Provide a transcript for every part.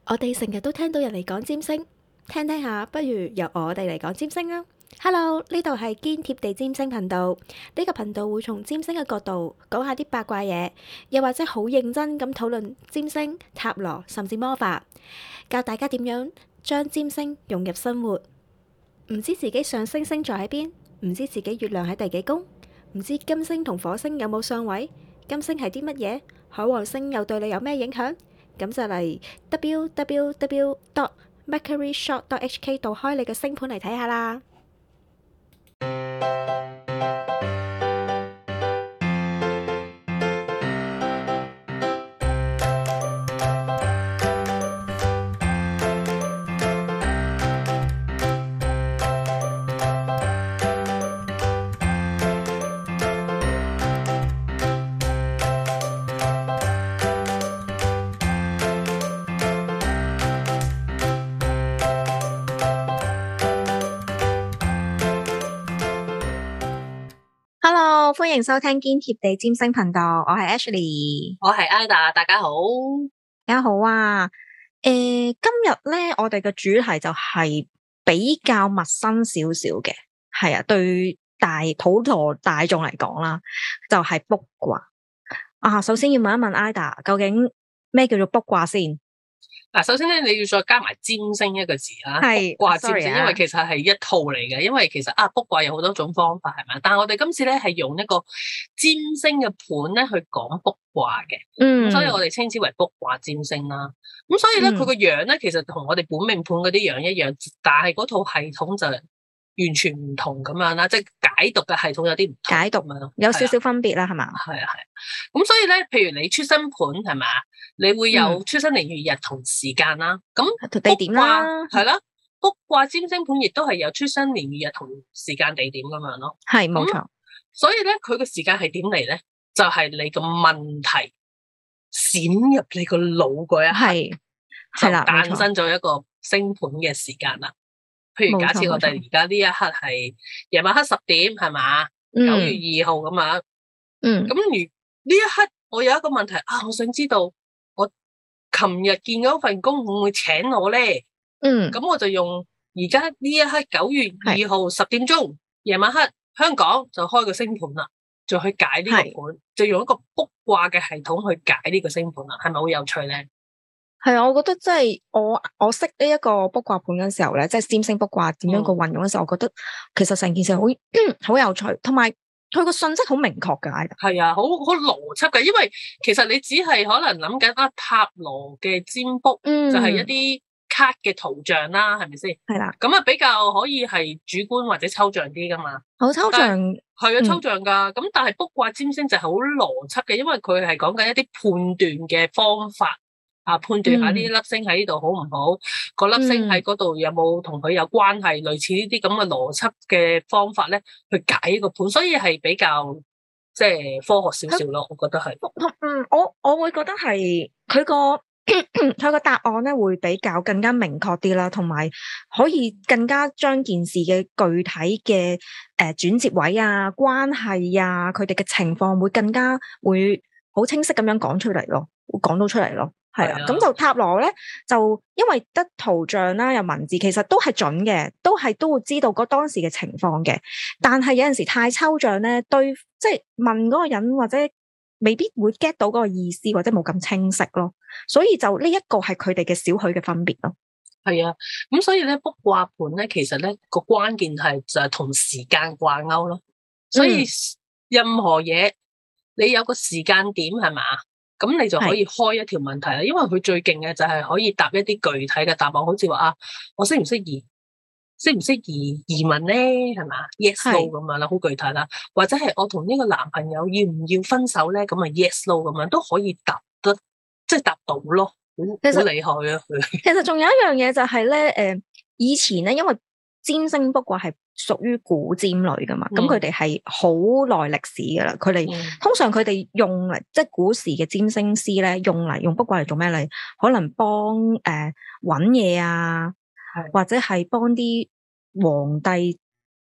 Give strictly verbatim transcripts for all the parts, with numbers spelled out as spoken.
我哋成日都聽到人嚟講占星，聽聽下，不如由我哋嚟講占星啦。Hello，呢度係堅貼地占星頻道，呢個頻道會從占星嘅角度講下啲八卦嘢，又或者好認真咁討論占星、塔羅甚至魔法，教大家點樣將占星融入生活。唔知自己上升星座喺邊，唔知自己月亮喺第幾宮，唔知金星同火星有冇相位，金星係啲乜嘢，海王星又對你有咩影響？咁就嚟 w w w dot mercury shop dot h k 度開你嘅星盤嚟睇下啦。Hello，歡迎收聽堅貼地占星頻道，我係 Ashley， 我係 Ida，大家好， 大家好啊。誒、呃，今日咧，我哋嘅主題就係比較陌生少少嘅，係啊，對大普羅大眾嚟講啦，就係、是、卜卦啊。首先要問一問 Ida，究竟咩叫做卜卦先？ 嗱，首先咧，你要再加埋占星一個字啦， 係卜卦占星， 啊、 因為其實係一套嚟嘅。因為其實啊，卜卦有好多種方法，係咪？但係我哋今次咧係用一個占星嘅盤咧去講卜卦嘅，嗯，所以我哋稱之為卜卦占星啦。咁所以咧，佢個、嗯、樣咧，其實同我哋本命盤嗰啲樣一樣，但係嗰套系統就完全唔同咁樣啦，即係解讀嘅系統有啲唔同， 解讀啊，有少少分別啦，係嘛？ 係啊係啊，咁所以咧，譬如你出生盤係咪，你會有出生年月日同時間啦，咁、嗯、 地點啦， 係啦，卜卦占星盤亦都係有出生年月日同時間地點咁樣咯， 係冇錯。 所以咧，佢個時間係點嚟咧？就係、是、你個問題閃入你個腦嗰一刻，係啦，誕生咗一個星盤嘅時間啦。譬如假設我哋而家呢一刻係夜晚黑十點，係嘛？九月二號咁樣。嗯。咁如呢一刻我有一個問題啊，我想知道我琴日見嗰份工會唔會請我咧？嗯。咁我就用而家呢一刻九月二號十點鐘夜晚黑香港就開個星盤啦，就去解呢個盤，就用一個卜卦嘅系統去解呢個星盤啦，係咪好有趣咧？ 係啊，我覺得即係我我識呢一個卜卦盤嘅時候咧，即係占星卜卦點樣個運用嘅時候，嗯、我覺得其實成件事好好有趣，同埋佢個信息好明確噶。 係啊，好好邏輯嘅，因為其實你只係可能諗緊啊塔羅嘅占卜，嗯、就係一啲卡嘅圖像啦，係咪先？係啦，咁啊比較可以係主觀或者抽象啲噶嘛。 好抽象， 係啊，抽象噶。咁、嗯、但係卜卦占星就係好邏輯嘅，因為佢係講緊一啲判斷嘅方法。啊，判斷下呢粒星喺呢度好唔好？個、嗯、粒星喺嗰度有冇同佢有關係？嗯、類似呢啲咁嘅邏輯嘅方法咧，去解呢個盤，所以係比較即係科學少少咯。我覺得係。 嗯，我我會覺得係佢個佢個答案咧，會比較更加明確啲啦，同埋可以更加將件事嘅具體嘅誒轉折位啊、關係啊，佢哋嘅情況會更加會好清晰咁樣講出嚟咯，會講到出嚟咯。係啊，咁就塔羅咧，就因為得圖像啦，有文字，其實都係準嘅，都係都會知道嗰當時嘅情況嘅。但係有陣時太抽象咧，對，即係問嗰個人或者未必會 get 到嗰個意思，或者冇咁清晰咯。所以就呢一個係佢哋嘅少許嘅分別咯。 係啊，咁所以咧卜卦盤咧，其實咧個關鍵係就係同時間掛鈎咯。所以任何嘢你有個時間點係嘛？咁你就可以開一條問題啦，因為佢最勁嘅就係可以答一啲具體嘅答案，好似話啊，我適唔適宜，適唔適宜移民咧，係嘛 ？Yes no 咁樣啦，好具體啦，或者係我同呢個男朋友要唔要分手咧？咁啊 Yes no 咁樣都可以答得，即係答到咯，好好厲害啊！ 其實仲有一樣嘢就係咧，誒，以前咧，因為占星卜卦係屬於古占類噶嘛，咁佢哋係好耐歷史噶啦。佢哋、嗯、通常佢哋用嚟，即係古時嘅占星師咧，用嚟用卜卦嚟做咩嚟？可能幫誒搵嘢啊，或者係幫啲皇帝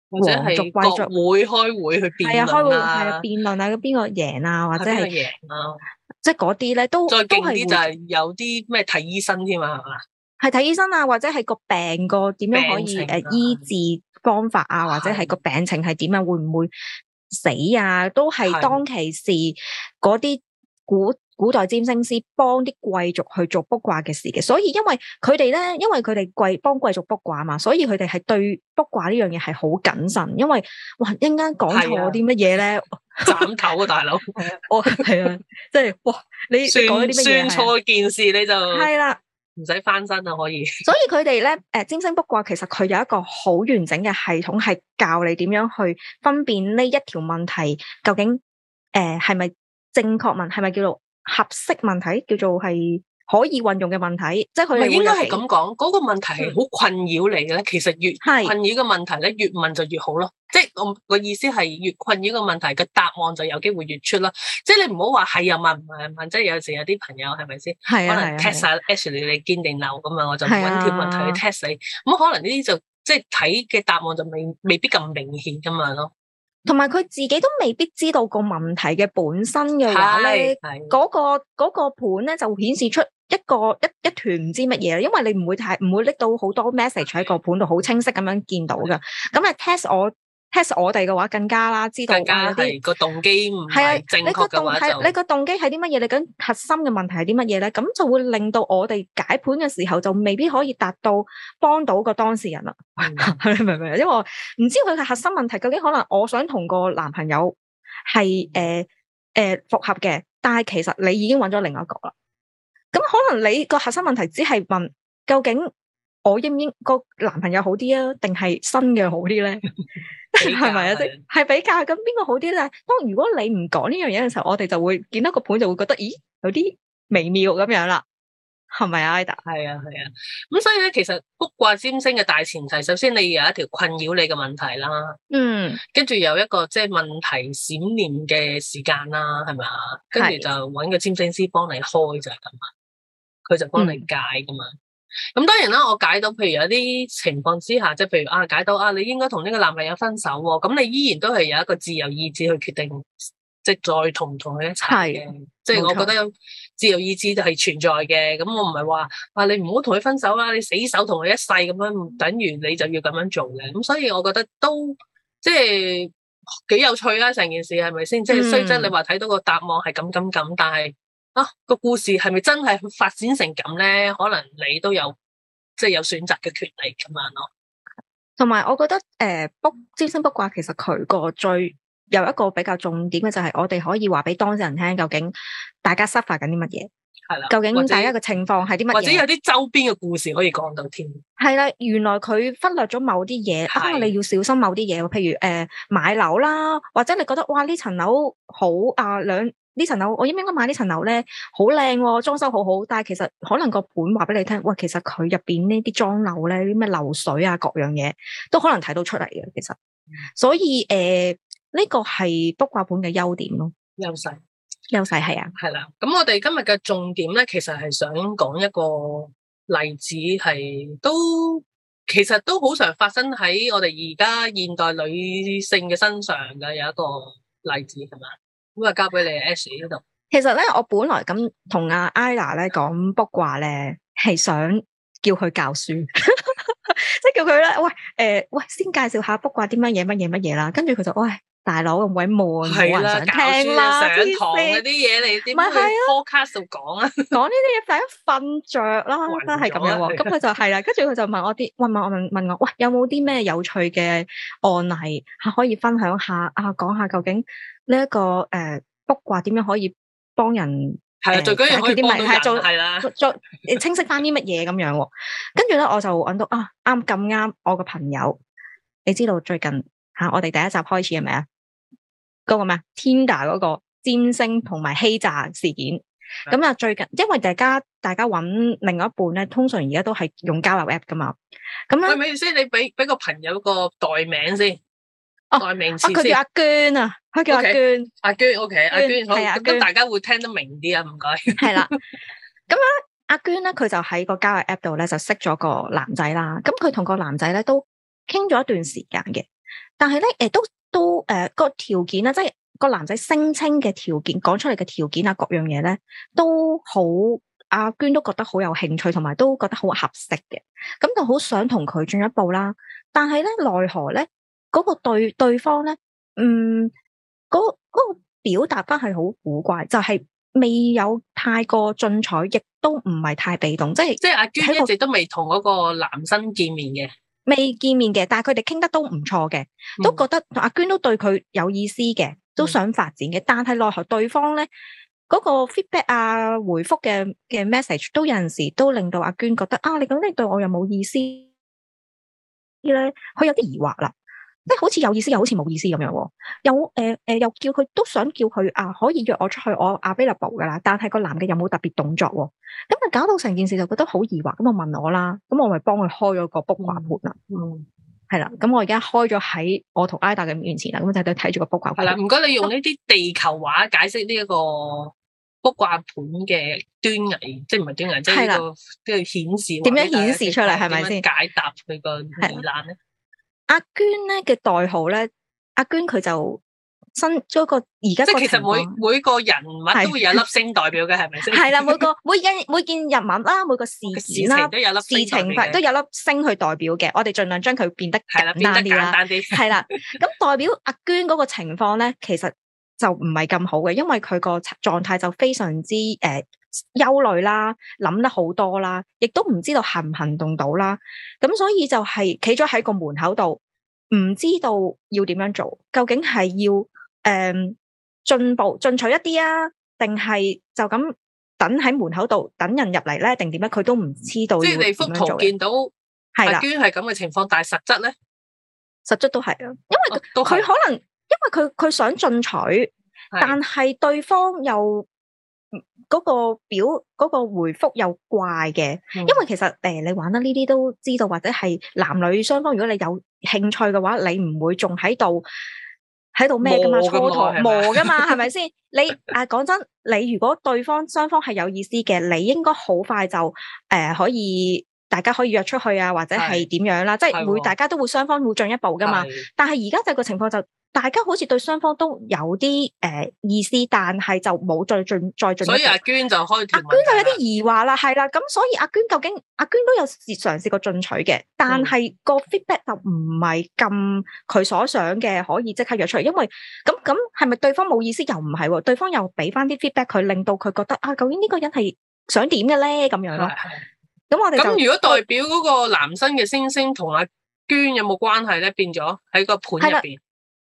或者係國會開會去辯論啊， 係啊，辯論啊，邊個贏啊，或者係贏啊， 即係嗰啲咧都再勁啲就係有啲咩睇醫生添嘛，係嘛？ 係睇醫生啊，或者係個病個點樣可以誒、啊、醫治方法啊，或者係個病情係點樣，會唔會死啊？都係當其時嗰啲古古代占星師幫啲貴族去做卜卦嘅事嘅，所以因為佢哋咧，因為佢哋貴幫貴族卜卦嘛，所以佢哋係對卜卦呢樣嘢係好謹慎，因為哇一陣間講錯啲乜嘢咧， 斬頭啊大佬！ 哦係啊，即係哇你講啲乜嘢，算錯件事你就係啦， 唔使翻身啊可以。 所以佢哋咧誒占星卜卦其實佢有一個好完整嘅系統，係教你點樣去分辨呢一條問題究竟誒係咪正確問，係咪叫做合適問題，叫做係可以運用嘅問題，即係佢哋應該係咁講，嗰、那個問題係好困擾你嘅咧。其實越困擾嘅問題咧，越問就越好咯。即係我個意思係越困擾嘅問題嘅答案就有機會越出啦。即係你唔好話係又問唔係問，即係有時有啲朋友係咪先？係啊，可能 test 下 Ashley 你堅定流咁啊，我就揾條問題去 test 你。咁可能呢啲就即係睇嘅答案就未未必咁明顯咁樣咯。 同埋佢自己都未必知道個問題嘅本身嘅話咧，嗰、那個嗰、那個盤咧就顯示出一個一一團唔知乜嘢，因為你唔會太唔會拎到好多 message 喺個盤度好清晰咁樣見到噶。咁啊 test 我 test 我哋嘅話更加啦，知道更加係個動機唔係正確嘅話就你個動機係啲乜嘢？你咁核心嘅問題係啲乜嘢咧？咁就會令到我哋解盤嘅時候就未必可以達到幫到個當事人啦。嗯、你明唔明？因為我唔知佢嘅核心問題究竟可能我想同個男朋友係誒誒復合嘅，但係其實你已經揾咗另一個啦。咁可能你個核心問題只係問究竟我應唔應個男朋友好啲啊，定係新嘅好啲咧？係咪啊？即係比較咁邊個好啲咧？當如果你唔講呢樣嘢嘅時候，我哋就會見到個盤就會覺得，咦，有啲微妙咁樣啦，係咪啊 Ida？ 係啊係啊，咁所以咧，其實卜卦占星嘅大前提，首先你有一條困擾你嘅問題啦， 嗯， 跟住有一個即係問題閃念嘅時間啦，係咪啊？跟住就揾個占星師幫你開就係咁啊，佢就幫你解噶嘛。咁、嗯、當然啦，我解到，譬如有啲情況之下，即係譬如啊，解到啊，你應該同呢個男朋友分手喎，咁你依然都係有一個自由意志去決定，即係再同唔同佢一齊嘅。即係我覺得有自由意志就係存在嘅。咁我唔係話啊，你唔好同佢分手啦，你死守同佢一世咁樣，等於你就要咁樣做嘅。咁所以我覺得都即係幾有趣啦，成件事係咪先？即係雖則你話睇到個答案係咁咁咁，但係。啊，個故事係咪真係發展成咁咧？可能你都有即係有選擇嘅權利咁樣咯。 同埋，我覺得誒，卜占星卜卦其實佢個最有一個比較重點嘅就係我哋可以話俾當事人聽，究竟大家 suffer 緊啲乜嘢？係啦，究竟大家嘅情況係啲乜嘢？或者有啲周邊嘅故事可以講到添。 係啦，原來佢忽略咗某啲嘢，啊，你要小心某啲嘢，譬如誒、呃、買樓啦，或者你覺得哇呢層樓好啊兩。呢層樓我應唔應該買呢層樓咧？好靚，裝修好好，但係其實可能個盤話俾你聽，喂，其實佢入邊呢啲裝樓咧，啲咩漏水啊，各樣嘢都可能睇到出嚟嘅。其實，所以誒，呢、呃這個係卜卦盤嘅優點咯， 優勢， 優勢係啊， 係啦。咁我哋今日嘅重點咧，其實係想講一個例子，係都其實都好常發生喺我哋而家現代女性嘅身上嘅有一個例子，係嘛？咁啊，交俾你 Ashley 呢度。 其實咧，我本來咁同阿 Ida 咧講卜卦咧，係想叫佢教書，即係叫佢咧，喂，誒、呃，喂，先介紹下卜卦啲乜嘢乜嘢乜嘢啦。跟住佢就，喂，大佬咁鬼悶，冇人想聽啦， 上堂嗰啲嘢你點去 podcast 度講啊？ 講呢啲嘢大家瞓着啦，真係咁樣。咁佢就係啦，跟住佢就問我啲，問問我問問我，喂，有冇啲咩有趣嘅案例吓可以分享下啊？講下究竟。呢、這、一個誒卜卦點樣可以幫人係啊？最緊要可以幫到人係啦， 再清晰翻啲乜嘢咁樣喎？跟住咧我就揾到啊啱咁啱我個朋友，你知道最近嚇、啊、我哋第一集開始係咪啊？嗰、那個咩 Tinder 嗰個占星同埋欺詐事件，咁啊最近因為大家大家揾另外一半咧，通常而家都係用交友 app 噶嘛，咁咧， 係咪先？你俾俾個朋友個代名先。 哦， 代名詞先。 佢叫阿娟啊，佢叫阿娟。 Okay, 阿娟 ，OK，阿娟好， 咁咁大家會聽得明啲啊，唔該。 係啦，咁啊，阿娟咧，佢就喺個交友 app 度咧，就識咗個男仔啦。咁佢同個男仔咧都傾咗一段時間嘅。 但係咧誒都都誒、呃、個條件啦，即係個男仔聲稱嘅條件講出嚟嘅條件啊，各樣嘢咧都好，阿娟都覺得好有興趣，同埋都覺得好合適嘅，咁就好想同佢進一步啦。但係咧奈何咧嗰、嗰個對對方咧，嗯嗰嗰、嗰個表達翻係好古怪，就係、是。未有太過進取，亦都唔係太被動，即係即係阿娟一直都未同嗰個男生見面嘅， 未見面嘅，但係佢哋傾得都唔錯嘅，嗯、都覺得阿娟都對佢有意思嘅，都想發展嘅，嗯、但係奈何對方咧嗰、嗰個 feedback 啊回覆嘅嘅 message 都有陣時都令到阿娟覺得啊，你咁你對我有冇意思咧？佢有啲疑惑啦。即係好似有意思又好似冇意思咁樣，又誒誒、呃、又叫佢都想叫佢啊可以約我出去，我 available 噶啦，但係個男嘅有冇特別動作，咁啊搞到成件事就覺得好疑惑，咁我問我啦，咁我咪幫佢開咗個卜卦盤啦，嗯，係啦，咁我而家開咗喺我同 Ida 嘅面前啦，咁就喺度睇住個卜卦盤。係啦， 唔該你用呢啲地球話解釋呢一個卜卦盤嘅端倪，即係唔係端倪，即係呢個即係顯示點樣顯示出嚟，係咪先解答佢個疑難咧？ 阿娟咧嘅代號咧，阿娟佢就新咗個而家， 即係其實每每個人物都會有粒星代表嘅，係咪先？ 係啦，每個每件每件人物啦，每個事件啦， 都有粒事情都有粒星去代表嘅。我哋盡量將佢變得簡單啲啦。係啦，咁代表阿娟嗰個情況咧，其實就唔係咁好嘅，因為佢個狀態就非常之誒憂慮啦，諗得好多啦，亦都唔知道行唔行動到啦。咁所以就係企咗喺個門口度，唔知道要點樣做，究竟係要誒進步進取一啲啊，定係就咁等喺門口度等人入嚟咧，定點樣？佢都唔知道。 即係你幅圖見到阿娟係咁嘅情況，但係實質咧， 實質都係啊，因為佢可能因為佢佢想進取，但係對方又。嗰個表嗰、嗰個回覆又怪嘅，嗯、因為其實誒、呃、你玩得呢啲都知道，或者係男女雙方，如果你有興趣嘅話，你唔會仲喺度喺度咩噶嘛，蹉跎磨噶嘛，係咪先？你啊講真，你如果對方雙方係有意思嘅，你應該好快就誒、呃、可以大家可以約出去啊，或者係點樣啦，是即係會大家都會雙方會進一步噶嘛。但係而家就個情況就。大家好似對雙方都有啲誒、呃、意思，但係就冇再進再進。所以阿娟就開， 阿娟就有啲疑惑啦，係啦，咁所以阿娟究竟阿娟都有試嘗試過進取嘅，但係個 feedback 就唔係咁佢所想嘅，可以即刻約出嚟。因為咁咁係咪對方冇意思？又唔係喎，對方又俾翻啲 feedback 佢，令到佢覺得啊，究竟呢個人係想點嘅咧？咁樣咯。咁我哋咁如果代表嗰個男生嘅星星同阿娟有冇關係咧？變咗喺個盤入邊。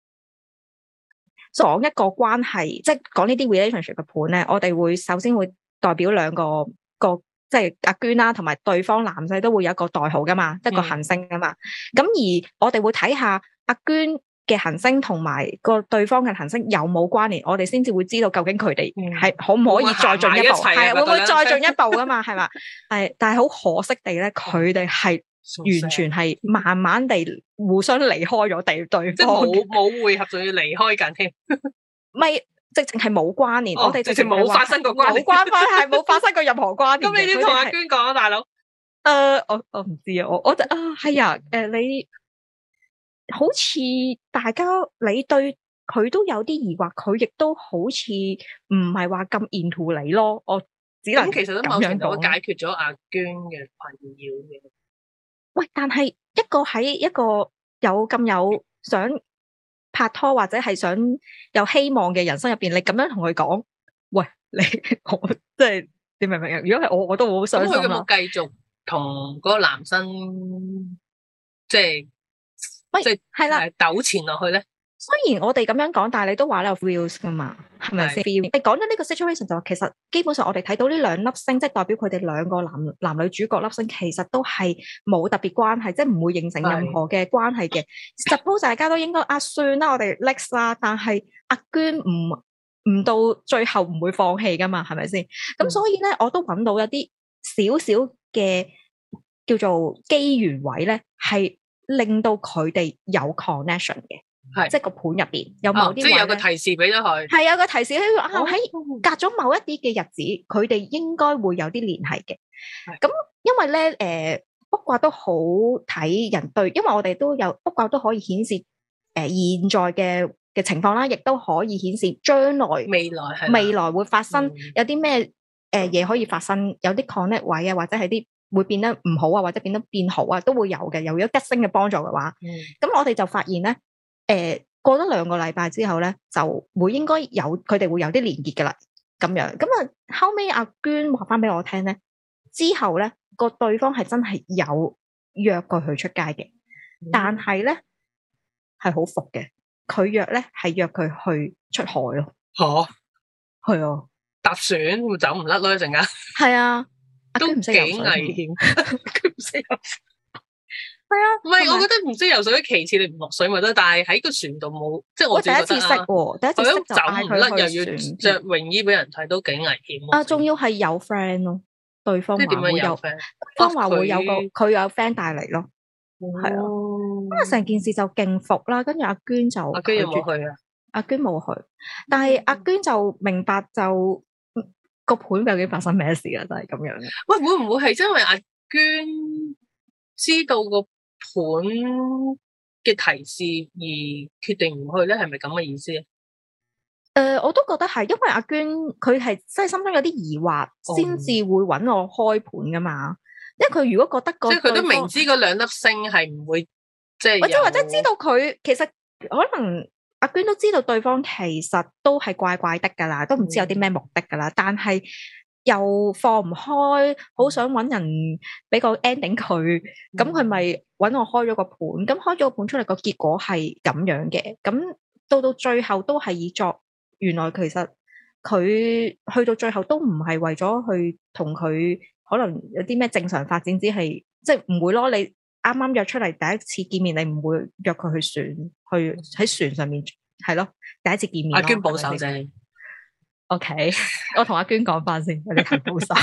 講一個關係，即係講呢啲 relationship 嘅盤咧，我哋會首先會代表兩個個，即係阿娟啦，同埋對方男仔都會有一個代號噶嘛，一個行星噶嘛。咁、嗯、而我哋會睇下阿娟嘅行星同埋個對方嘅行星有冇關聯，我哋先至會知道究竟佢哋係可唔可以再進一步，係會唔會再進一步噶嘛？係嘛？係，但係好可惜地咧，佢哋係。完全係慢慢地互相離開咗地對方， 即係冇冇會合，仲要離開緊添。 咪直情係冇關聯，我哋直情冇發生過關聯， 冇關係，係冇發生過任何關聯。 咁你點同阿娟講啊，大佬？ 誒，我我唔知啊，我我啊係啊，誒，你好似大家你對佢都有啲疑惑，佢亦都好似唔係話咁 into 你咯。我只能其實都某程度解決咗阿娟嘅困擾嘅。 喂，但係一個喺一個有咁有想拍拖或者係想有希望嘅人生入邊，你咁樣同佢講，喂，你我即係你明唔明啊？如果係我，我都會好傷心。咁佢有冇繼續同嗰個男生即係即係係啦糾纏落去咧？ 雖然我哋咁樣講，但係你都話你有 feels 噶嘛，係咪先？你講咗呢個 situation 就話，其實基本上我哋睇到呢兩粒星，即係代表佢哋兩個男男女主角粒星，其實都係冇特別關係，即係唔會形成任何嘅關係嘅。Suppose 大家都應該啊，算啦，我哋 next 啦。但係阿娟唔唔到最後唔會放棄噶嘛，係咪先？咁、嗯、所以咧，我都揾到一啲少少嘅叫做機緣位咧，係令到佢哋有 connection 嘅。係，即係個盤入邊有某啲、哦，即係有個提示俾咗佢。係有個提示喺啊，喺隔咗某一啲嘅日子，佢哋應該會有啲聯繫嘅。咁的因為咧，誒、呃，卜卦都好睇人對，因為我哋都有卜卦都可以顯示呃、現在嘅嘅情況啦，亦都可以顯示將來未來係未來會發生、 嗯、 有啲咩誒嘢可以發生，有啲 connect 位啊，或者係啲會變得唔好啊，或者變得變好啊，都會有嘅。有咗吉星嘅幫助嘅話，咁、嗯、我哋就發現咧，誒、呃、過咗兩個禮拜之後咧，就會應該有佢哋會有啲連結噶啦，咁樣。咁啊後尾阿娟話翻俾我聽咧，之後咧個對方係真係有約過佢出街嘅，嗯、但係咧係好伏嘅。佢約咧係約佢去出海咯。吓，係啊， 搭船會走唔甩咯一陣間。係啊， 都幾危險。佢唔識游水。係啊，唔係我覺得唔識游水，其次你唔落水咪得，但係喺個船度冇，即係我自己覺得啊。我第一次識喎，第一次識就嗌佢去船，又要着泳衣俾人睇，都幾危險。啊，仲要係有 friend 咯，對方話會有 friend，對方話會有個佢有 friend 帶嚟咯。係啊，咁啊成件事就勁服啦，跟住阿娟就阿娟有冇去啊？ 阿娟冇去，但係阿娟就明白就個盤究竟發生咩事啊？就係咁樣。 喂，會唔會係因為阿娟知道個盤嘅提示而決定唔去咧？係咪咁嘅意思啊？ 誒，我都覺得係，因為阿娟佢係真係心中有啲疑惑，先至會搵我開盤噶嘛。因為佢如果覺得個， 即係佢都明知嗰兩粒星係唔會，即係或者或者知道佢其實可能阿娟都知道對方其實都係怪怪的噶啦，都唔知有啲咩目的噶啦，嗯、但係又放唔開，好想搵人俾個 ending 佢，咁佢咪搵我開咗個盤，咁開咗個盤出嚟個結果係咁樣嘅，咁到到最後都係以作，原來其實佢去到最後都唔係為咗去同佢。可能有啲咩正常發展，只係即係唔會咯。你啱啱約出嚟第一次見面，你唔會約佢去船，去喺船上面係咯。第一次見面， 阿娟保守啫。 O、okay, K， 我同阿娟講翻先，有啲太保守。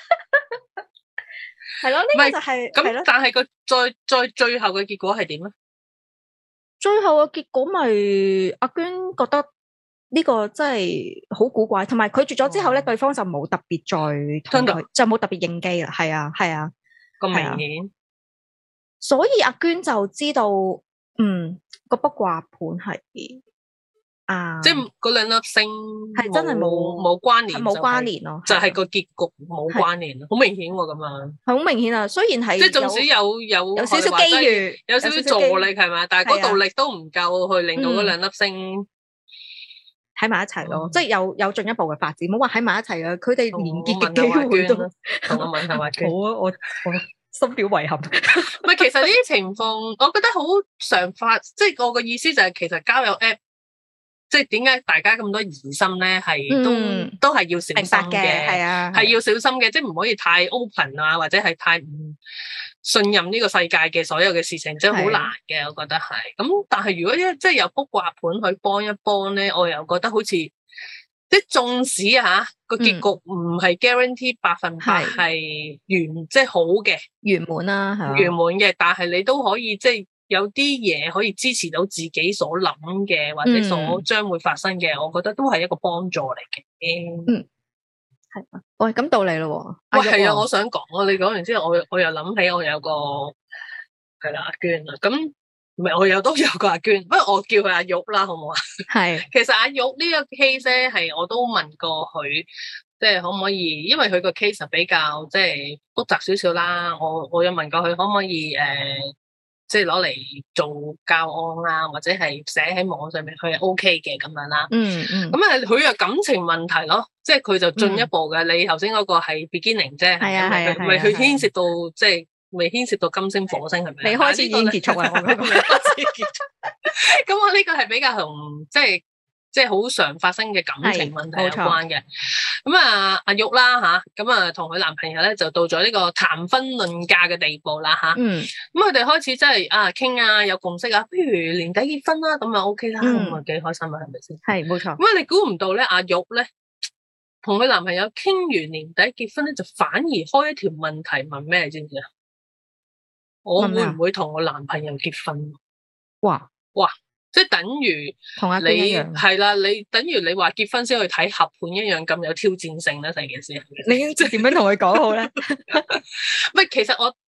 係咯，呢、這個就係、是、 咁。但係個再再最後嘅結果係點咧？ 最後嘅結果咪阿娟覺得。呢個真係好古怪，同埋拒絕咗之後咧，哦、對方就冇特別再同佢，就冇特別應機啦。係啊，係啊， 咁明顯。 所以阿娟就知道，嗯，個卜卦盤係啊， 即係嗰兩粒星係真係冇冇關聯， 冇關聯咯， 就係個結局冇關聯咯，好明顯喎咁樣。係好明顯啊！雖然係即係縱使有有有少少機遇， 有少少助力係咪？但係嗰道力都唔夠去令到嗰兩粒星。 喺埋一齊咯，嗯、即係有有進一步嘅發展，冇話喺埋一齊啊！佢哋連結嘅機會都， 同我問下話娟， 好啊，我我深表遺憾。 唔係，其實呢啲情況，我覺得好常發，即係我個意思就係，其實交友 app， 即係點解大家咁多疑心咧？係都、嗯、都係要小心嘅，係啊，係要小心嘅，即係唔可以太 open 啊，或者係太唔信任呢個世界嘅所有嘅事情，真係好難嘅，我覺得係。咁但係如果一即係有卜卦盤去幫一幫咧，我又覺得好似即係縱使啊個結局唔係 guarantee 百分百係完，即係好嘅圓滿啦，係圓滿嘅，但係你都可以即係有啲嘢可以支持到自己所諗嘅，或者所將會發生嘅，嗯、我覺得都係一個幫助嚟嘅。嗯。 係啊，喂，咁到你咯， 喂，係啊，我想講啊，你講完之後，我我又諗起我有個係啦阿娟啊，咁唔係我有都有個阿娟，不過我叫佢阿玉啦，好唔好啊？係，其實阿玉呢個 case 咧，係我都問過佢，即係可唔可以，因為佢個 case 比較即係複雜少少啦，我我有問過佢可唔可以誒。呃即係攞嚟做教案啊，或者係寫喺網上面，佢係 O K 嘅咁樣啦。嗯嗯。咁啊，佢有感情問題咯，即係佢就進一步嘅。嗯、你頭先嗰個係 beginning 啫，係啊係啊，咪佢牽涉到即係未牽涉到金星火星係咪？ 未開始已經結束啊！我覺得未開始結束。 咁我呢個係比較同即係。即係好常發生嘅感情問題有關嘅，咁啊阿玉啦吓，咁啊同佢男朋友咧就到咗呢個談婚論嫁嘅地步啦吓，嗯，咁佢哋開始真係啊傾啊有共識啊，不如年底結婚啦，咁啊 OK 啦，咁啊幾開心啊，係咪先？係冇錯。咁啊你估唔到咧，阿玉咧同佢男朋友傾完年底結婚咧，就反而開一條問題問咩，知唔知啊？我會唔會同我男朋友結婚？哇哇！即係等於同阿娟一樣，係啦，你等於你話結婚先去睇合盤一樣咁有挑戰性啦，成件事。你即係點樣同佢講好咧？唔係，其實我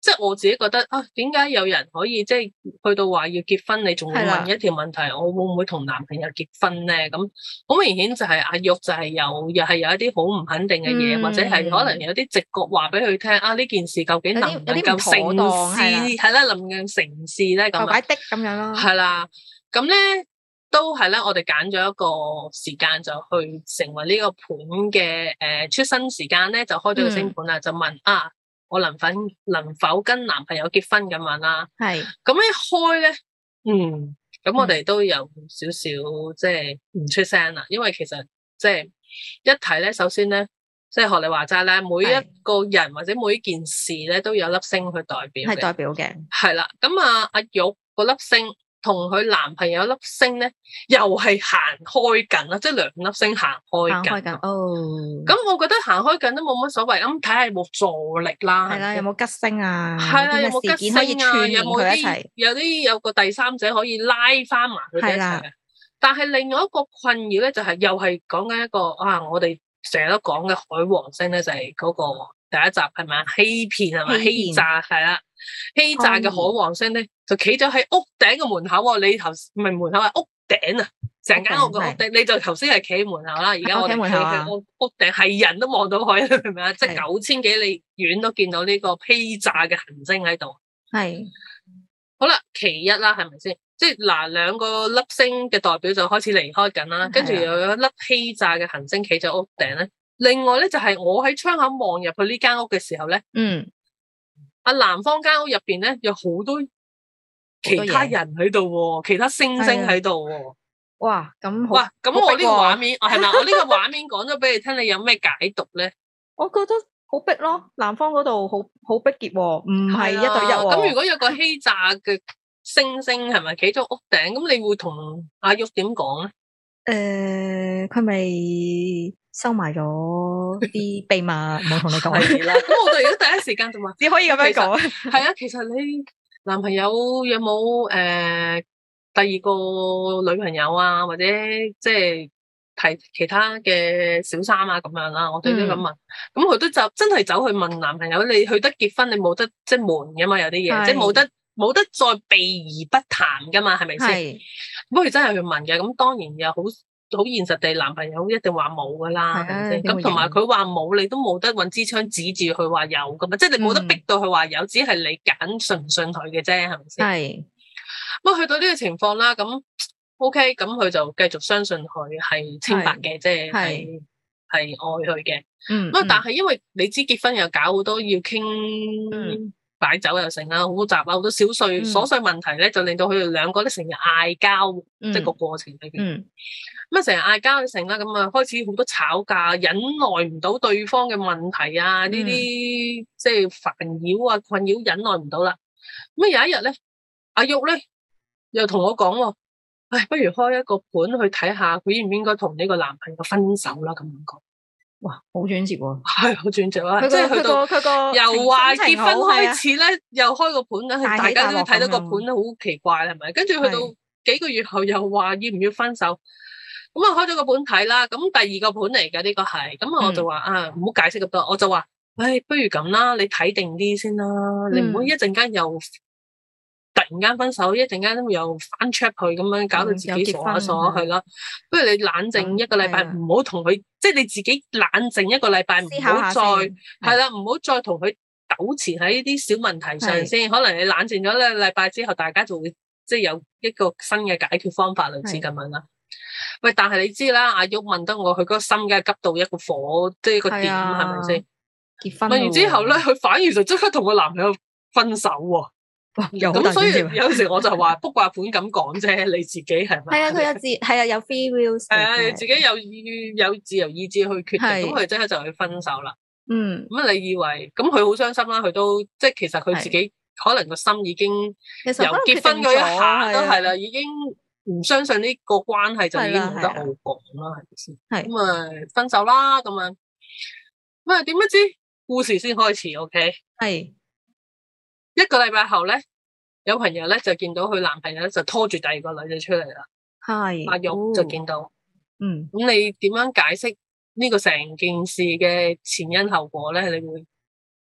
即係我自己覺得啊，點解有人可以即係去到話要結婚，你仲會問一條問題，我會唔會同男朋友結婚咧？咁好明顯就係阿玉就係有，又係有一啲好唔肯定嘅嘢，嗯、或者係可能有啲直覺話俾佢聽啊，呢件事究竟能唔能夠成事？係啦，能唔能成事咧？咁擺的咁樣咯。 係啦，咁咧都係咧，我哋揀咗一個時間就去成為呢個盤嘅誒出生時間咧，就開咗個星盤啦，嗯、就問啊。我能否能否跟男朋友結婚咁樣啦？係咁一開咧，嗯，咁我哋都有少少即係唔出聲啦，因為其實即係一睇咧，首先咧，即係學你話齋咧，每一個人或者每一件事咧，都有粒星去代表嘅，係代表嘅，係啦。咁啊，阿玉個粒星同佢男朋友粒星咧，又係行開緊啦，即係兩粒星行開緊。行開緊哦。咁我覺得行開緊都冇乜所謂，咁睇下有冇助力啦。係啦，有冇吉星啊？係啦，有冇吉星啊？有冇啲有啲有個第三者可以拉翻埋佢哋一齊嘅？但係另外一個困擾咧，就係又係講緊一個啊，我哋成日都講嘅海王星咧，就係嗰個第一集係咪啊？欺騙係咪？欺詐係啦。欺詐嘅海王星咧，就企咗喺屋頂嘅門口喎。你頭唔係門口係屋頂啊，成間屋嘅屋頂。你就頭先係企喺門口啦，而家我哋企喺屋屋頂，係人都望到佢，明唔明啊？即係九千幾里遠都見到呢個欺詐嘅行星喺度。係好啦，其一啦，係咪先？即係嗱，兩個粒星嘅代表就開始離開緊啦，跟住又有一粒欺詐嘅行星企咗屋頂咧。另外咧就係我喺窗口望入去呢間屋嘅時候咧，嗯。阿男方間屋入邊咧有好多其他人喺度喎，其他星星喺度喎。哇，咁哇，咁我呢個畫面係咪？我呢個畫面講咗俾你聽，你有咩解讀咧？我覺得好逼咯，男方嗰度好好逼傑喎，唔係一對一喎。咁如果有個欺詐嘅星星係咪企咗屋頂？咁你會同阿玉點講咧？誒，佢咪收埋咗啲秘密，冇同你講。係啦，咁我哋而家第一時間就話，只可以咁樣講。係啊，其實你男朋友有冇誒、呃、第二個女朋友啊，或者即係提其他嘅小三啊咁樣啦？我哋都咁問，咁佢、嗯、都就真係走去問男朋友，你去得結婚，你冇得即係瞞噶嘛？有啲嘢是即係冇得冇得再避而不談噶嘛？係咪先？咁佢真係去問嘅，咁當然又好。好現實地，男朋友一定話冇噶啦，係咪先？咁同埋佢話冇，你都冇得揾支槍指住佢話有噶嘛？即係你冇得逼到佢話有，只係你揀信唔信佢嘅啫，係咪先？係。不過去到呢個情況啦，咁 OK，咁佢就繼續相信佢係清白嘅，即係係係愛佢嘅。嗯。咁但係因為你知結婚又搞好多要傾擺酒又成啦，好複雜啦，好多小碎瑣碎問題咧，就令到佢哋兩個咧成日嗌交，即係個過程裏邊。嗯。咁啊，成日嗌交成啦，咁啊開始好多吵架，忍耐唔到對方嘅問題啊，呢啲、嗯、即係煩擾啊、困擾，忍耐唔到啦。咁啊有一日咧，阿玉咧又同我講喎，唉，不如開一個盤去睇下，佢應唔應該同呢個男朋友分手啦？咁樣講，哇，好轉折喎，係好轉折啊！即係去到佢個由話結婚開始咧，啊、又開個盤，梗係大家都睇到個盤好奇怪，係咪？跟住去到幾個月後又話要唔要分手？咁啊，開咗個盤睇啦，咁第二個盤嚟嘅呢個係，咁我就話、嗯、啊，唔好解釋咁多，我就話，唉，不如咁啦，你睇定啲先啦，嗯、你唔好一陣間又突然間分手，一陣間又翻 check 佢咁樣，搞到自己傻下傻下去啦。不如你冷靜一個禮拜，唔好同佢，即係你自己冷靜一個禮拜，唔好再係啦，唔好再同佢糾纏喺呢啲小問題上先。可能你冷靜咗一個禮拜之後，大家就會即係有一個新嘅解決方法，類似咁樣啦。喂，但係你知啦，阿玉問得我，佢嗰個心梗係急到一個火，即係一個點，係咪先？結婚問完之後咧，佢反而就即刻同個男朋友分手喎。咁所以有時我就話卜卦盤咁講啫，你自己係咪？係啊，佢有自係啊，有 free will。係啊，你自己有有自由意志去決定，咁佢即刻就去分手啦。嗯，咁你以為咁佢好傷心啦？佢都即係其實佢自己可能個心已經由結婚嗰一下都係啦，已經。唔相信呢個關係就已經冇得好講啦，係咪先？係咁啊，分手啦咁樣。咁啊，點不知故事先開始 ，OK？係一個禮拜後咧，有朋友咧就見到佢男朋友咧就拖住第二個女仔出嚟啦。係阿玉就見到，嗯，咁你點樣解釋呢個成件事嘅前因後果咧？你會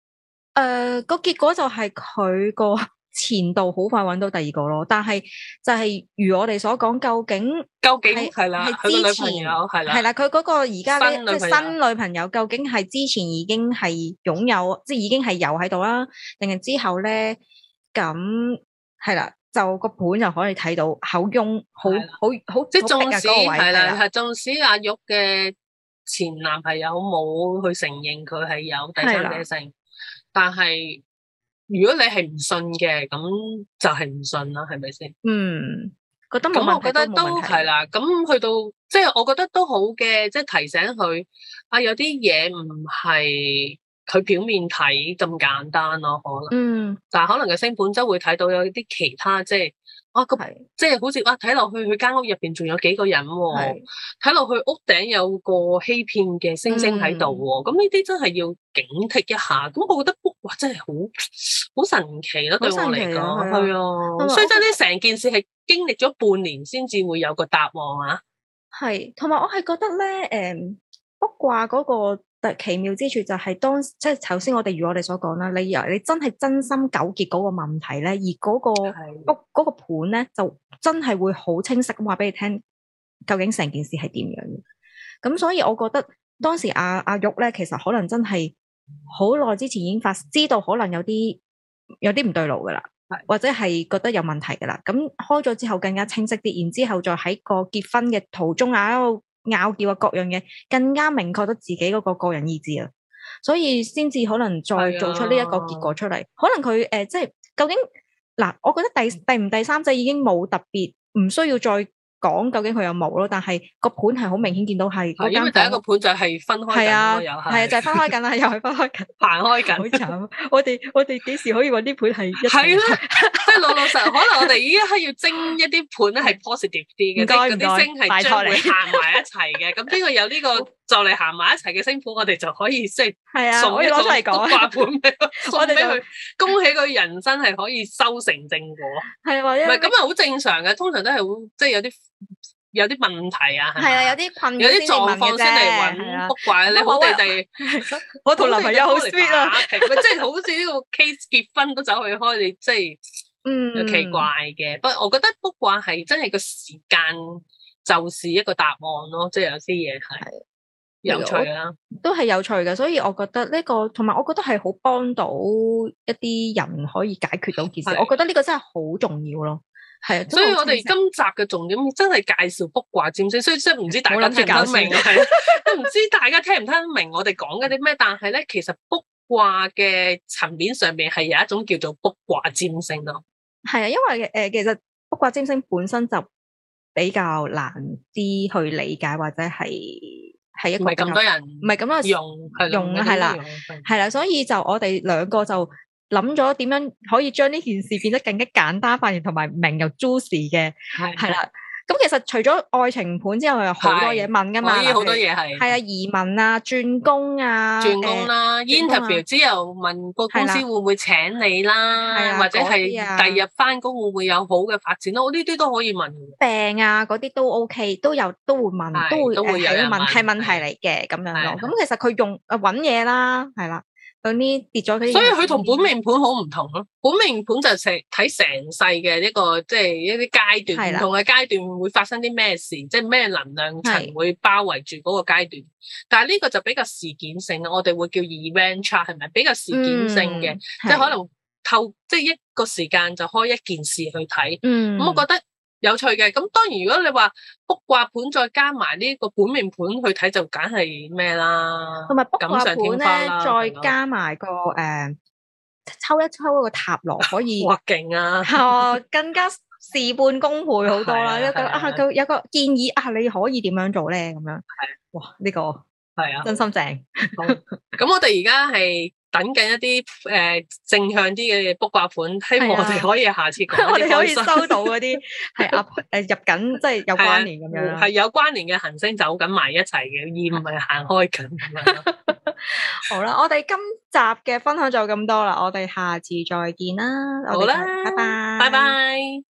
誒，個結果就係佢個前度好快揾到第二個咯，但係就係如我哋所講，究竟究竟係啦， 係佢個之前女朋友係啦， 係啦，佢嗰個而家咧新女朋友即係新女朋友，究竟係之前已經係擁有，即係已經係有喺度啦，定係之後咧咁係啦，就個盤就可以睇到口翁好好好， 即係縱使係係啦，係縱使阿玉嘅前男朋友冇去承認佢係有第三者性，但係如果你係唔信嘅，咁就係唔信啦，係咪先？ 嗯，覺得冇問題， 咁我覺得都係啦。咁去到即係我覺得都好嘅，即係提醒佢啊，有啲嘢唔係佢表面睇咁簡單咯，可能。嗯。但係可能個星盤周會睇到有啲其他即係。啊，咁即係好似哇，睇落去佢間屋入邊仲有幾個人喎，睇落去屋頂有個欺騙嘅星星喺度喎，咁呢啲真係要警惕一下。咁我覺得哇，真係好好神奇咯，對我嚟講係啊，所以真係成件事係經歷咗半年先至會有個答案啊。 係，同埋我係覺得咧，誒、嗯，卜卦嗰個特奇妙之處就係當即係頭先我哋如我哋所講啦，你由你真係真心糾結嗰個問題咧，而嗰、嗰個卜嗰個盤咧就真係會好清晰咁話俾你聽，究竟成件事係點樣嘅。咁所以我覺得當時阿阿玉咧，其實可能真係好耐之前已經發知道可能有啲有啲唔對路噶啦，或者係覺得有問題噶啦。咁開咗之後更加清晰啲，然之後再喺個結婚嘅途中啊，拗撬啊，各樣嘢更加明確得自己嗰個個人意志啊，所以先至可能再做出呢一個結果出嚟。可能佢誒、呃，即係究竟嗱，我覺得第第唔第三者已經冇特別，唔需要再講究竟佢有冇咯。但係個盤係好明顯見到係， 因為第一個盤就係分開緊咯，又係係啊，就係、是、分開緊啦，又係分開緊， 行開緊， 好慘。我哋我哋幾時可以搵啲盤係一齊？ 係啦，即係老老實，可能我哋依家要精一啲盤咧係 positive 啲嘅，即係嗰啲星係將會行埋一齊嘅。咁呢個有呢個就嚟行埋一齊嘅星盤，我哋就可以即係送一個卜卦盤俾佢，送俾佢，恭喜佢人生係可以修成正果。 係或者唔係咁啊，好正常嘅，通常都係好即係有啲。有啲問題啊， 係啊，有啲困， 有啲狀況先嚟揾卜卦。你好地地， 我同男朋友好 sweet 啊， 即係好似呢個 case 結婚都走去開，你即係嗯奇怪嘅。不過我覺得卜卦係真係個時間就是一個答案咯，即係有啲嘢係有趣啦， 都係有趣嘅。所以我覺得呢個同埋，我覺得係好幫到一啲人可以解決到件事。我覺得呢個真係好重要咯。係啊， 所以我哋今集嘅重點真係介紹卜卦占星，所以即係唔知大家聽唔聽得明，係都唔知大家聽唔聽得明我哋講緊啲咩。但係咧，其實卜卦嘅層面上面係有一種叫做卜卦占星咯。係啊，因為誒、呃，其實卜卦占星本身就比較難啲去理解，或者係係一個唔係咁多人唔係咁多用用係啦，係啦，所以就我哋兩個就。諗咗點樣可以將呢件事變得更加簡單化，同埋明又 juicy 嘅，係啦。咁其實除咗愛情盤之外，有好多嘢問噶嘛，可以好多嘢係係啊，移民啊，轉工啊，轉工啦、呃、，interview 之後問個公司會唔會請你啦，或者係第日翻工會唔會有好嘅發展咯？呢啲都可以問。病啊，嗰啲都 OK，都有都會問，都會都會有人問，係問題嚟嘅咁樣咯。咁其實佢用誒搵嘢啦，係啦。有啲跌咗啲，所以佢同本命盤好唔同咯。本命盤就成睇成世嘅一個，即係一啲階段，唔同嘅階段會發生啲咩事，即係咩能量層會包圍住嗰個階段。但係呢個就比較事件性，我哋會叫 event chart，係咪比較事件性嘅？嗯、即係可能透即係一個時間就開一件事去睇。嗯，咁我覺得有趣嘅。咁當然如果你話卜卦盤再加埋呢個本命盤去睇，就梗係咩啦？同埋卜卦盤咧，再加埋個誒、呃、抽一抽一個塔羅可以，哇勁啊！哦，更加事半功倍好多啦。一個啊，佢有個建議啊，你可以點樣做咧？咁樣係哇，呢、這個係啊，真心正。咁我哋而家係。等緊一啲誒、呃、正向啲嘅卜卦盤，希望我哋可以下次講。我哋可以收到嗰啲係啊誒入緊，即係有關聯咁樣，係有關聯嘅行星走緊埋一齊嘅，而唔係行開緊咁樣。好啦，我哋今集嘅分享就咁多啦，我哋下次再見啦。好啦，拜拜，拜拜。